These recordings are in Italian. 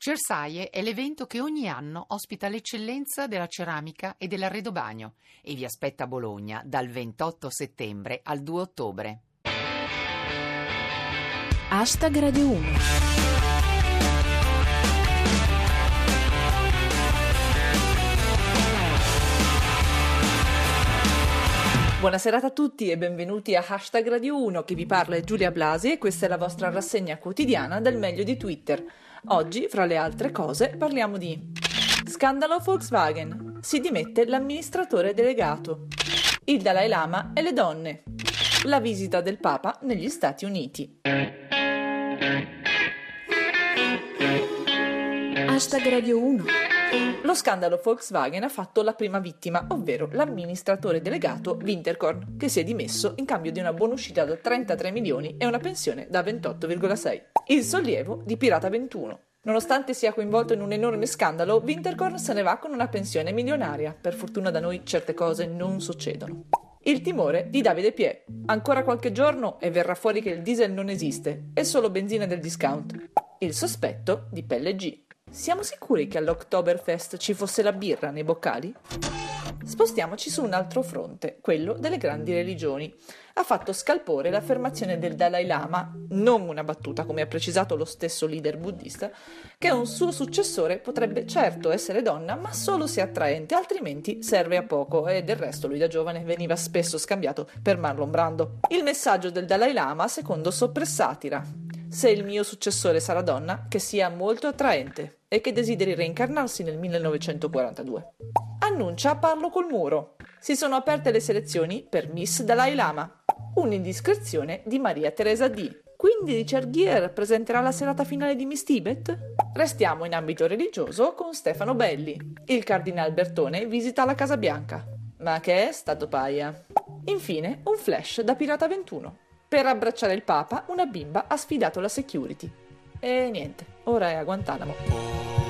Cersaie è l'evento che ogni anno ospita l'eccellenza della ceramica e dell'arredobagno e vi aspetta a Bologna dal 28 settembre al 2 ottobre. Hashtag Radio 1. Buonasera a tutti e benvenuti a Hashtag Radio 1, che vi parla è Giulia Blasi e questa è la vostra rassegna quotidiana del meglio di Twitter. Oggi, fra le altre cose, parliamo di scandalo Volkswagen, si dimette l'amministratore delegato, il Dalai Lama e le donne, la visita del Papa negli Stati Uniti. Hashtag Radio 1. Lo scandalo Volkswagen ha fatto la prima vittima, ovvero l'amministratore delegato Winterkorn, che si è dimesso in cambio di una buonuscita da 33 milioni e una pensione da 28,6. Il sollievo di Pirata 21. Nonostante sia coinvolto in un enorme scandalo, Winterkorn se ne va con una pensione milionaria. Per fortuna da noi certe cose non succedono. Il timore di Davide Pie. Ancora qualche giorno e verrà fuori che il diesel non esiste, è solo benzina del discount. Il sospetto di Pelle G. Siamo sicuri che all'Oktoberfest ci fosse la birra nei boccali? Spostiamoci su un altro fronte, quello delle grandi religioni. Ha fatto scalpore l'affermazione del Dalai Lama, non una battuta come ha precisato lo stesso leader buddista, che un suo successore potrebbe certo essere donna, ma solo se attraente, altrimenti serve a poco, e del resto lui da giovane veniva spesso scambiato per Marlon Brando. Il messaggio del Dalai Lama secondo soppressatira: se il mio successore sarà donna, che sia molto attraente e che desideri reincarnarsi nel 1942. Annuncia parlo col muro. Si sono aperte le selezioni per Miss Dalai Lama. Un'indiscrezione di Maria Teresa D. Quindi Richard Gere presenterà la serata finale di Miss Tibet? Restiamo in ambito religioso con Stefano Belli. Il cardinal Bertone visita la Casa Bianca. Ma che è stato paia. Infine, un flash da Pirata 21. Per abbracciare il Papa, una bimba ha sfidato la security. E niente, ora è a Guantanamo.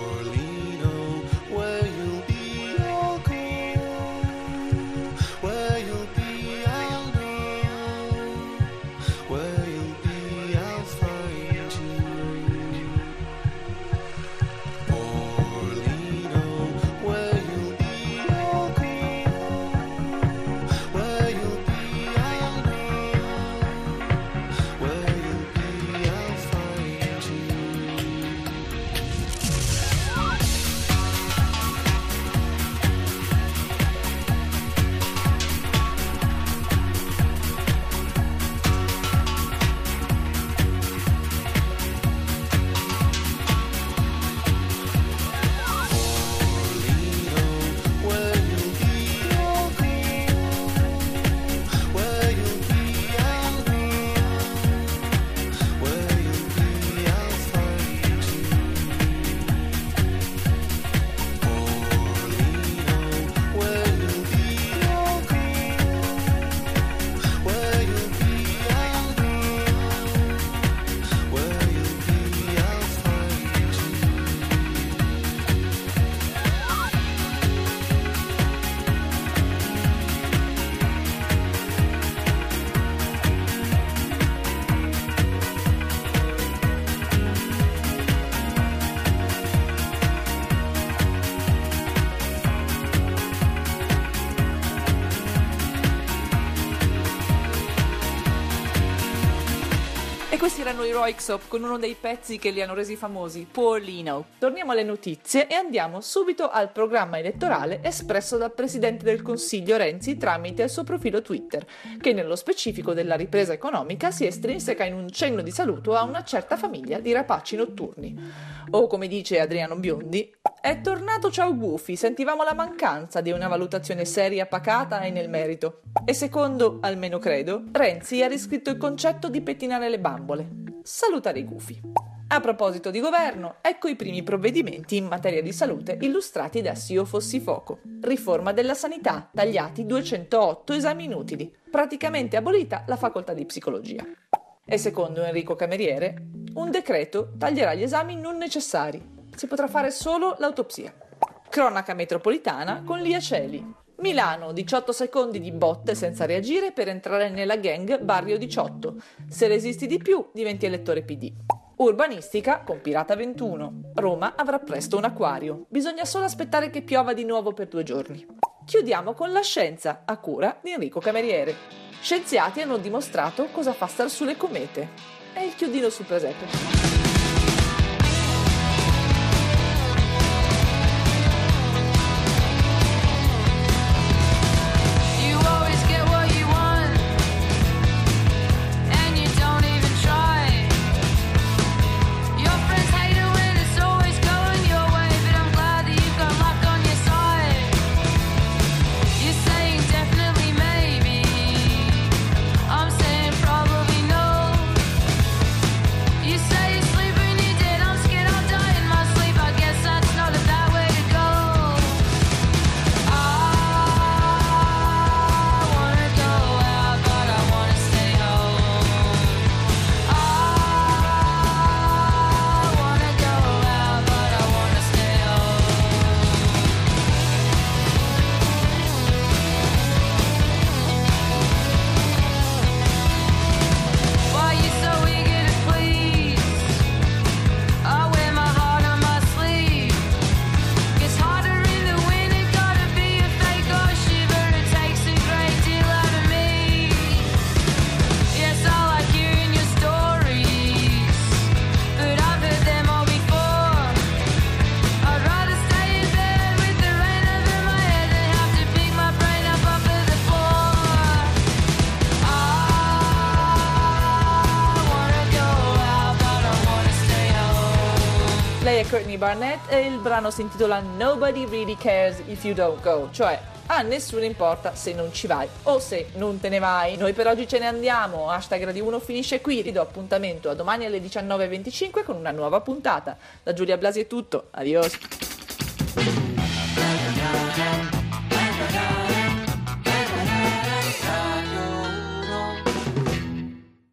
E questi erano i Röyksopp con uno dei pezzi che li hanno resi famosi, Poor Lino. Torniamo alle notizie e andiamo subito al programma elettorale espresso dal Presidente del Consiglio Renzi tramite il suo profilo Twitter, che nello specifico della ripresa economica si estrinseca in un cenno di saluto a una certa famiglia di rapaci notturni. O come dice Adriano Biondi, è tornato ciao gufi, sentivamo la mancanza di una valutazione seria, pacata e nel merito. E secondo, almeno credo, Renzi ha riscritto il concetto di pettinare le bambole. Salutare i gufi. A proposito di governo, ecco i primi provvedimenti in materia di salute illustrati da S'io fossi Foco. Riforma della sanità, tagliati 208 esami inutili. Praticamente abolita la facoltà di psicologia. E secondo Enrico Cameriere, un decreto taglierà gli esami non necessari. Si potrà fare solo l'autopsia. Cronaca metropolitana con Lia Celi. Milano, 18 secondi di botte senza reagire per entrare nella gang Barrio 18. Se resisti di più, diventi elettore PD. Urbanistica con Pirata 21. Roma avrà presto un acquario. Bisogna solo aspettare che piova di nuovo per 2 giorni. Chiudiamo con la scienza, a cura di Enrico Cameriere. Scienziati hanno dimostrato cosa fa star sulle comete. È il chiodino sul presepe. Lei è Courtney Barnett e il brano si intitola Nobody Really Cares If You Don't Go, cioè a nessuno importa se non ci vai o se non te ne vai. Noi per oggi ce ne andiamo, #Radio 1 finisce qui, vi do appuntamento a domani alle 19:25 con una nuova puntata. Da Giulia Blasi è tutto, adios!